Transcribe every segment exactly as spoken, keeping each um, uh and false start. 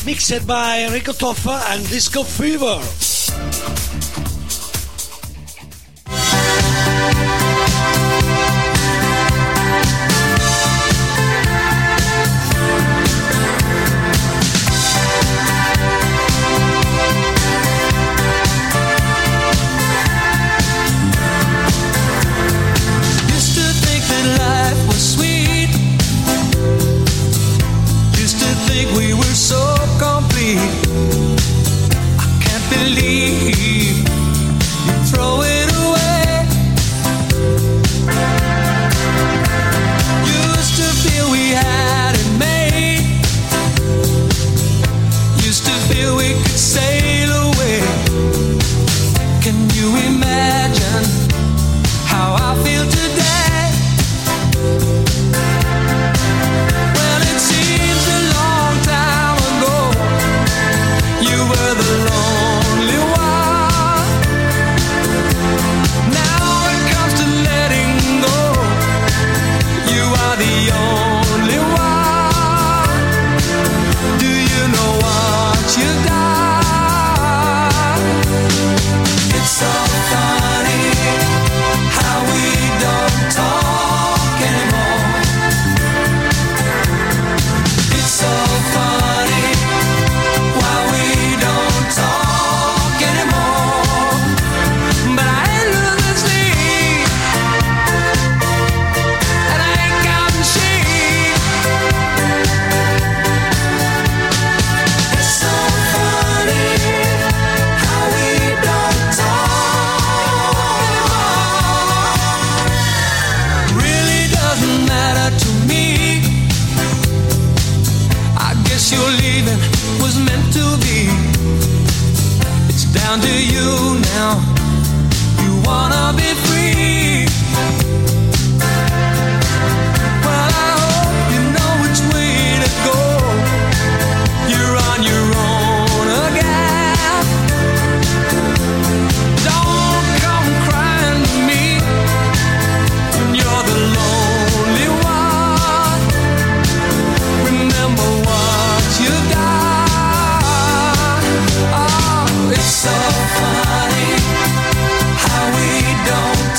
Mixed by Enrico Toffa and Disco Fever. So funny how we don't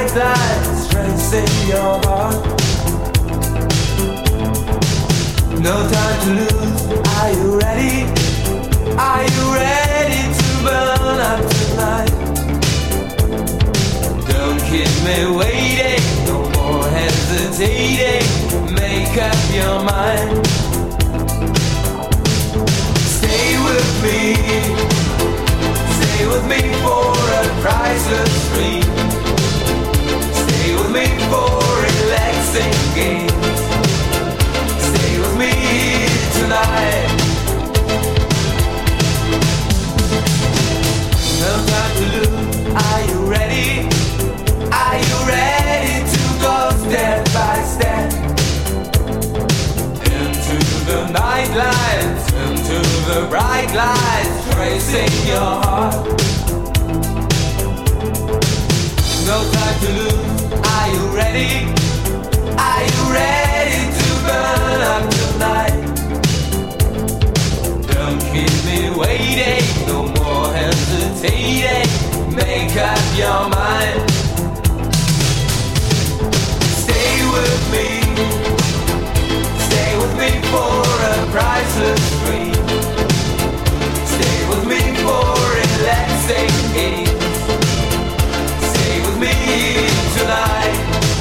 night lights tracing your heart. No time to lose. Are you ready? Are you ready to burn up tonight? Don't keep me waiting, no more hesitating. Make up your mind. Stay with me, stay with me for a priceless dream. Stay with me for relaxing games. Stay with me tonight. No time to lose. Are you ready? Are you ready to go step by step into the night lights, into the bright lights tracing your heart? No time to lose. Are you ready? Are you ready to burn up tonight? Don't keep me waiting, no more hesitating. Make up your mind. Stay with me, stay with me for a priceless dream. Stay with me for relaxing games. Stay with me tonight.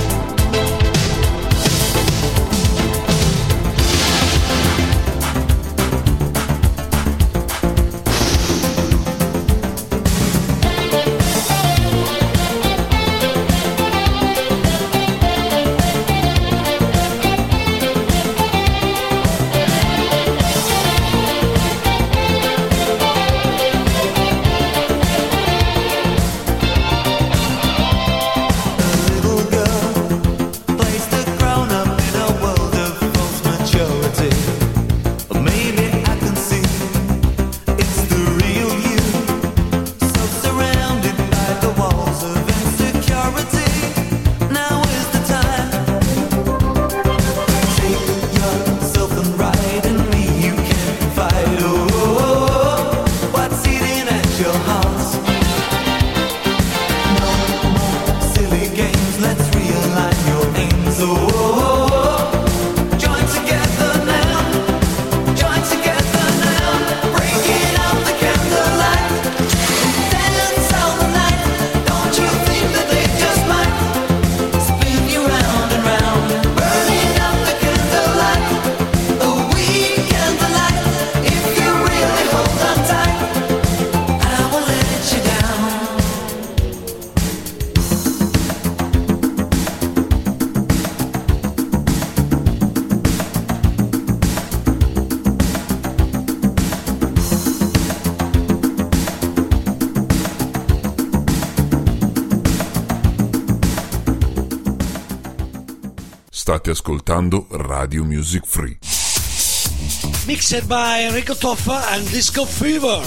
State ascoltando Radio Music Free. Mixed by Enrico Toffa and Disco Fever.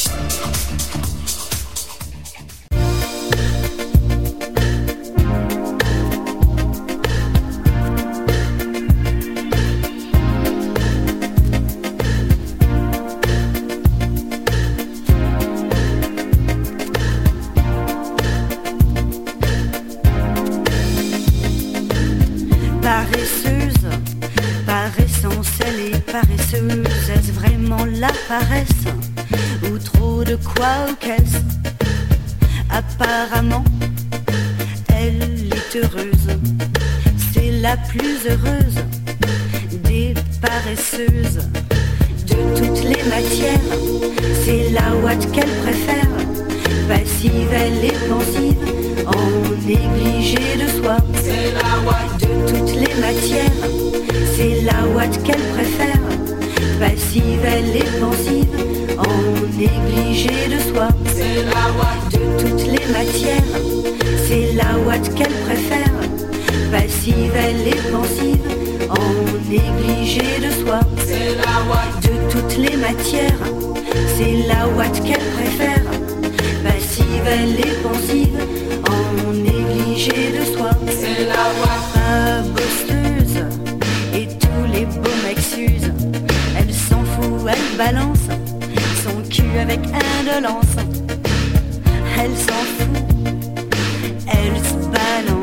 Paresse, ou trop de quoi ou qu'est-ce? Apparemment, elle est heureuse. C'est la plus heureuse des paresseuses. De toutes les matières, c'est la ouate qu'elle préfère. Passive, elle est pensive, en négligé de soi. C'est la ouate. De toutes les matières, c'est la ouate qu'elle préfère. Passive, elle est pensive, en négligé de soi. C'est la ouate. De toutes les matières, c'est la ouate qu'elle préfère. Passive, elle est pensive, en négligé de soi. C'est la ouate. De toutes les matières, c'est la ouate qu'elle préfère. Passive, elle est pensive, en négligé de soi. C'est la ouate. Pas bosseuse, et tous les beaux mecs s'usent. Elle s'en fout, elle balance son cul avec indolence. Elle s'en fout, elle se balance.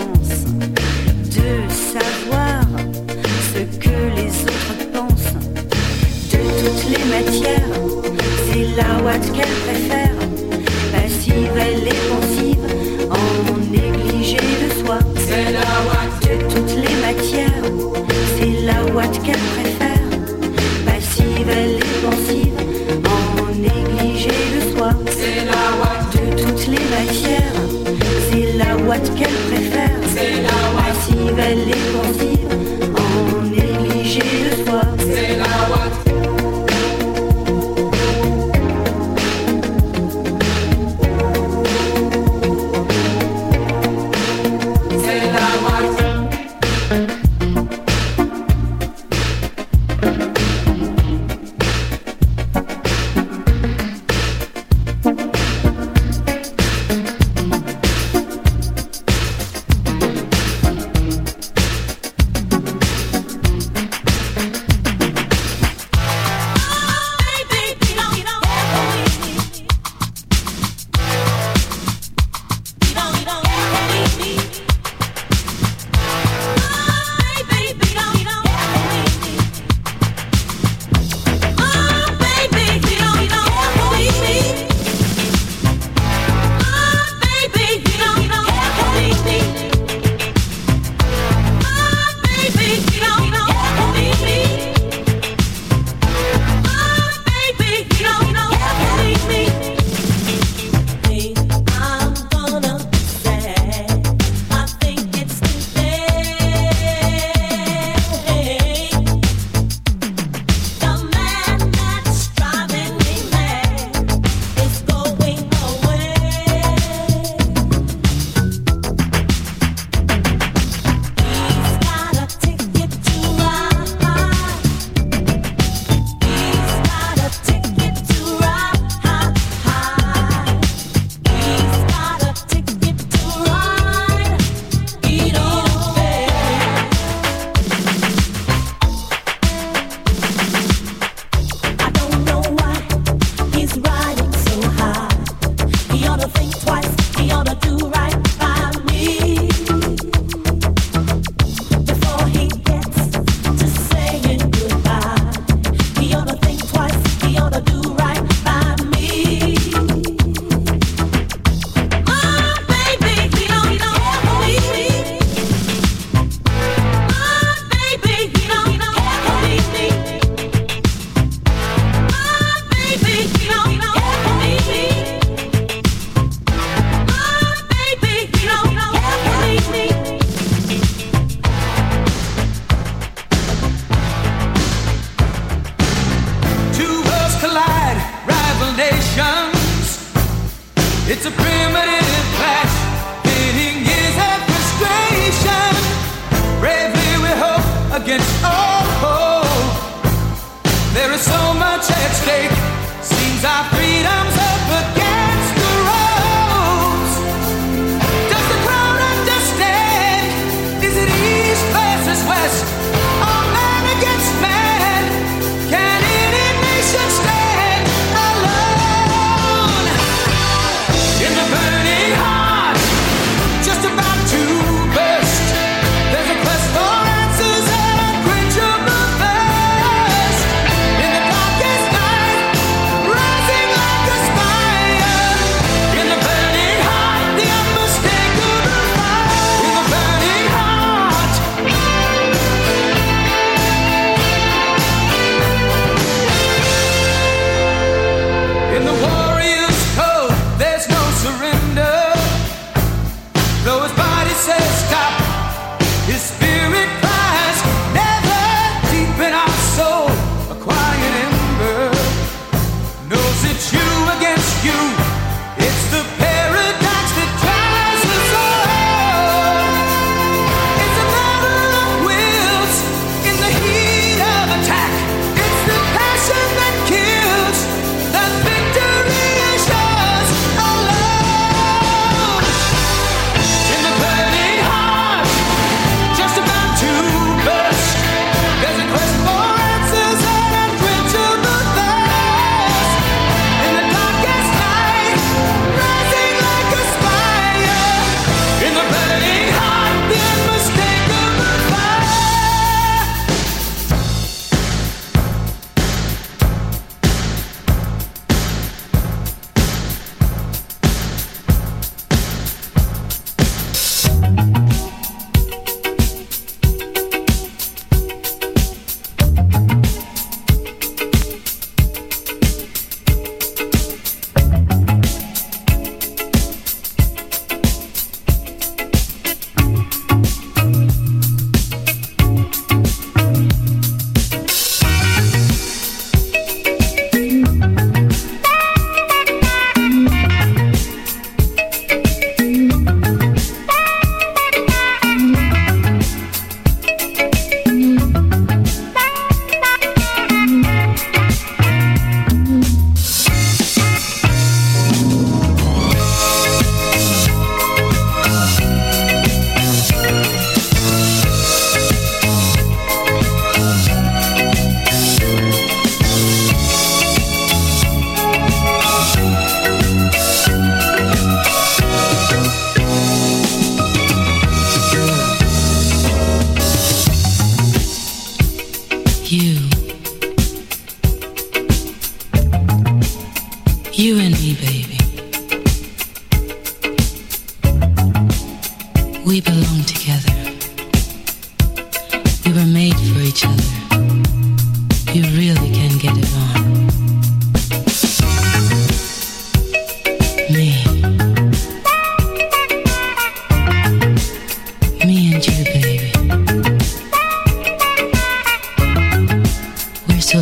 qu'elle préfère. Passive, elle est pensive, en négligé le soir. C'est la Watt de toutes les matières. C'est la Watt qu'elle préfère. C'est la Watt passive, elle est pensive, en négligé le soir. C'est la Watt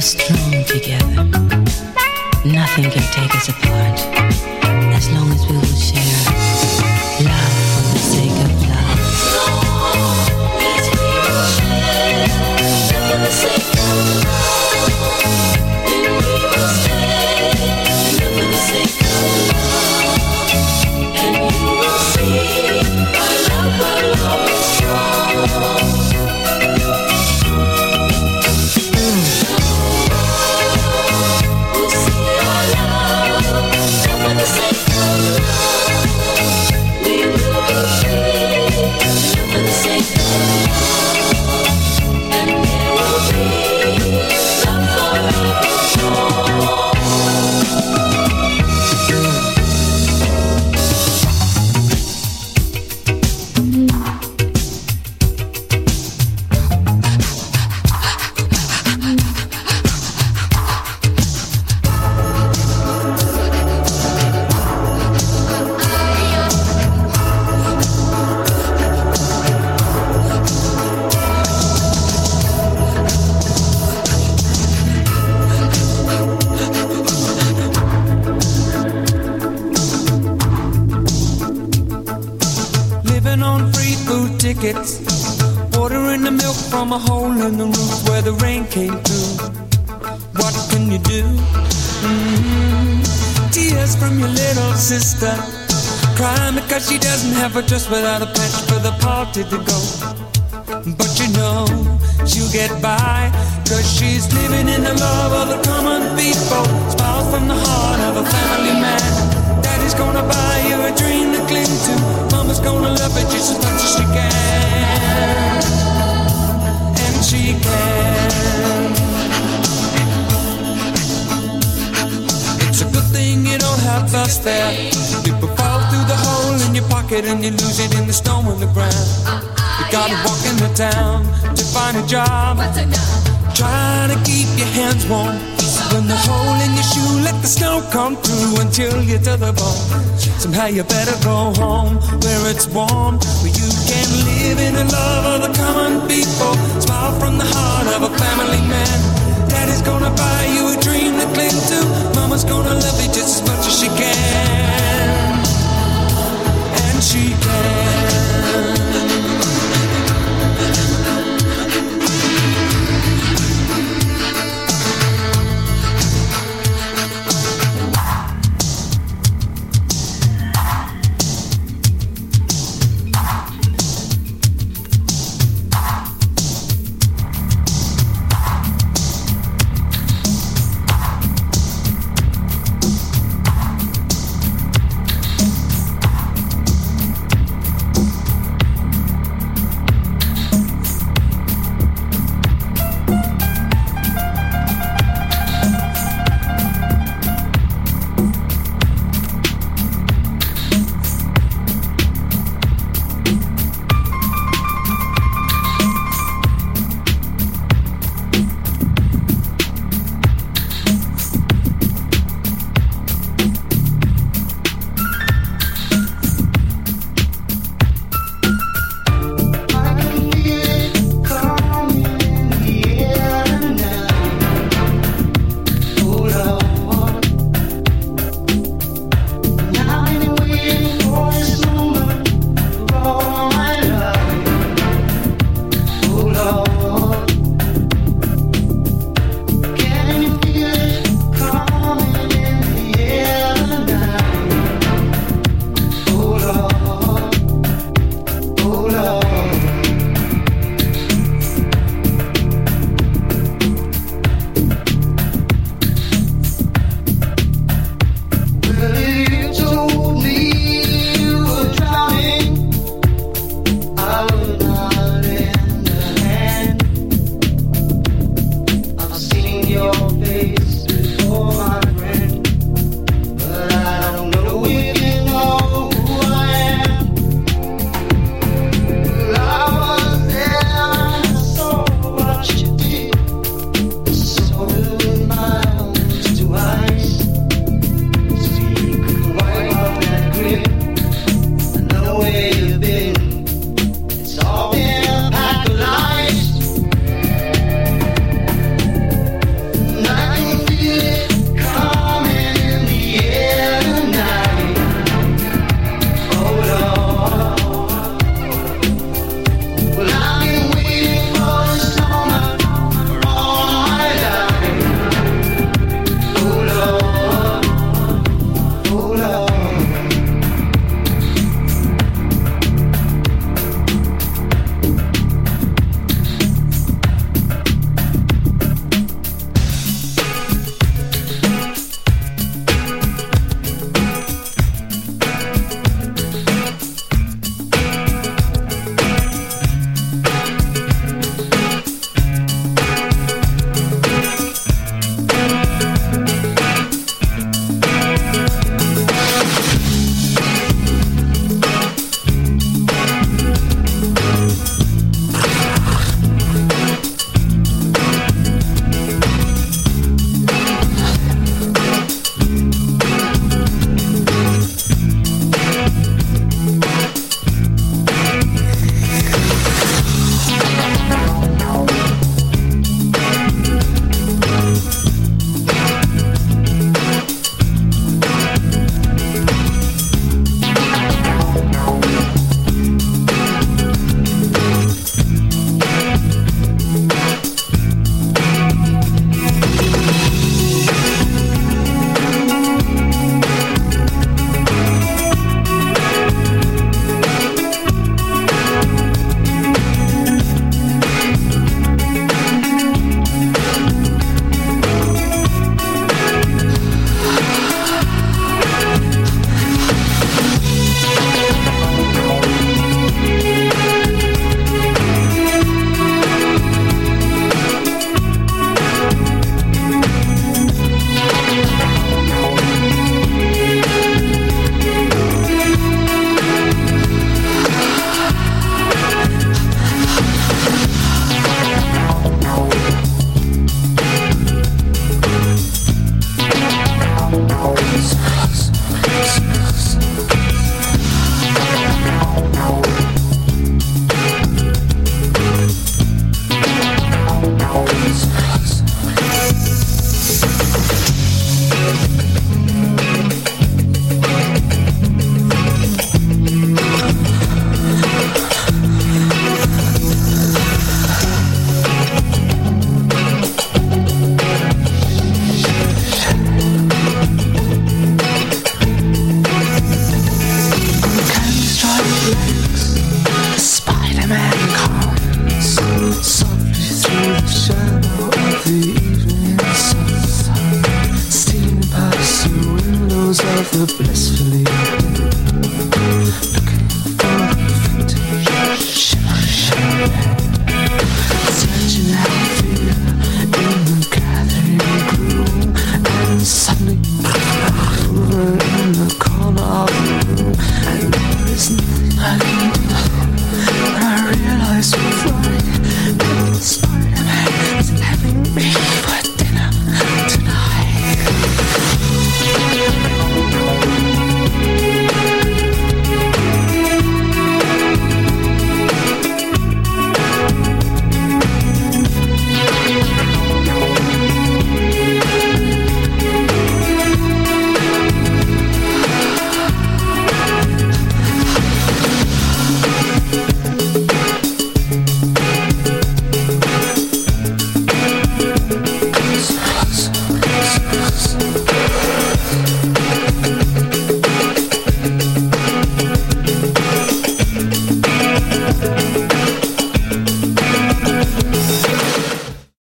strong together. Nothing can take us apart as long as we will share love for the sake of love. As we will share love for the sake of love, then we will stay love for the sake of love, and you will see our love, our love is strong. For the sake of love, we will be free. For the sake of love, and there will be love forevermore. Watering the milk from a hole in the roof where the rain came through. What can you do? Mm-hmm. Tears from your little sister, crying because she doesn't have a dress without a patch for the party to go. But you know she'll get by, cause she's living in the love of the common people. Smiles from the heart of a family man. Daddy's gonna buy you a dream to cling to. Mama's gonna love it just as much as she can. And she can. It's a good thing you don't have us there. People fall through the hole in your pocket and you lose it in the snow on the ground. You gotta walk in the town to find a job. Try to keep your hands warm. When the hole in your shoe, let the snow come through until you're to the bone. Somehow you better go home where it's warm, where you can live in the love of the common people. Smile from the heart of a family man. Daddy's gonna buy you a dream to cling to. Mama's gonna love you just as much as she can. And she can.